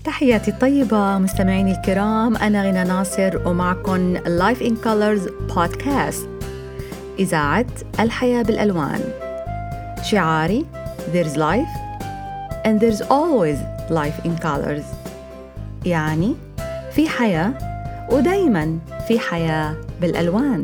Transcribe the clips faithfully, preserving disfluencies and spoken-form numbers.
تحياتي الطيبة مستمعيني الكرام، أنا غنى ناصر ومعكم Life in Colors Podcast، إذاعة الحياة بالألوان. شعاري There's life and there's always life in colors، يعني في حياة ودايماً في حياة بالألوان.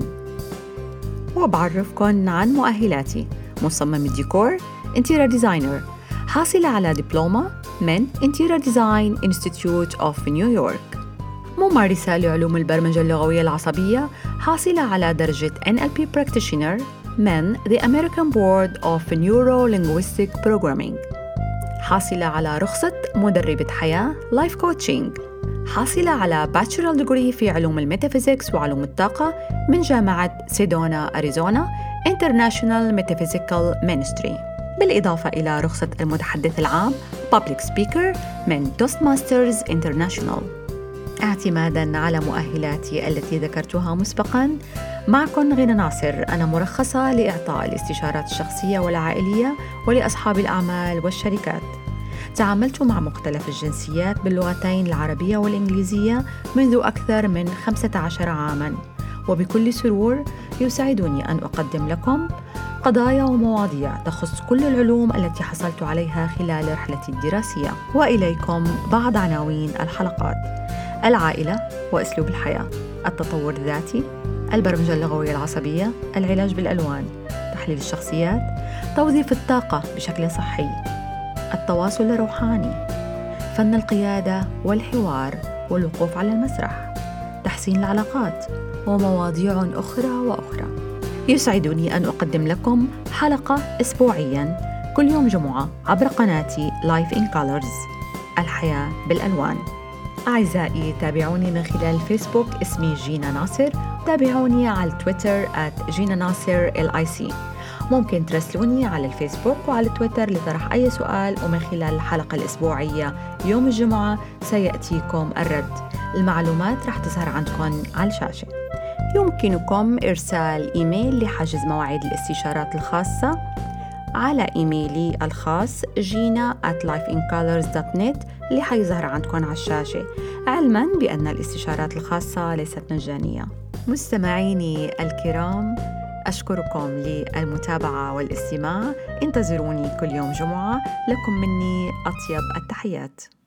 وبعرفكن عن مؤهلاتي: مصمم الديكور، انتيريور ديزاينر، حاصلة على دبلومة من Interior Design Institute of New York، ممارسة لعلوم البرمجة اللغوية العصبية، حاصلة على درجة إن إل بي Practitioner من The American Board of Neuro-Linguistic Programming، حاصلة على رخصة مدربة حياة Life Coaching، حاصلة على Bachelor Degree في علوم الميتافيزيكس وعلوم الطاقة من جامعة سيدونا أريزونا International Metaphysical Ministry، بالإضافة إلى رخصة المتحدث العام Public Speaker من Toastmasters International. اعتماداً على مؤهلاتي التي ذكرتها مسبقاً، معكم غنى ناصر، أنا مرخصة لإعطاء الاستشارات الشخصية والعائلية ولأصحاب الأعمال والشركات. تعاملت مع مختلف الجنسيات باللغتين العربية والإنجليزية منذ أكثر من خمسة عشر عاماً، وبكل سرور يسعدني أن أقدم لكم قضايا ومواضيع تخص كل العلوم التي حصلت عليها خلال رحلتي الدراسية. وإليكم بعض عناوين الحلقات: العائلة وأسلوب الحياة، التطور الذاتي، البرمجة اللغوية العصبية، العلاج بالألوان، تحليل الشخصيات، توظيف الطاقة بشكل صحي، التواصل الروحاني، فن القيادة والحوار والوقوف على المسرح، تحسين العلاقات، ومواضيع أخرى وأخرى. يسعدني أن أقدم لكم حلقة أسبوعياً كل يوم جمعة عبر قناتي Life in Colors، الحياة بالألوان. أعزائي، تابعوني من خلال الفيسبوك، اسمي جينا ناصر، تابعوني على تويتر at جينا ناصر إل آي سي. ممكن ترسلوني على الفيسبوك وعلى تويتر لطرح أي سؤال، ومن خلال الحلقة الأسبوعية يوم الجمعة سيأتيكم الرد. المعلومات رح تظهر عندكم على الشاشة. يمكنكم إرسال إيميل لحجز مواعيد الاستشارات الخاصة على إيميلي الخاص جينا at life in colors dot net اللي حيظهر عندكم على الشاشة، علماً بأن الاستشارات الخاصة ليست مجانية. مستمعيني الكرام، أشكركم للمتابعة والاستماع. انتظروني كل يوم جمعة، لكم مني أطيب التحيات.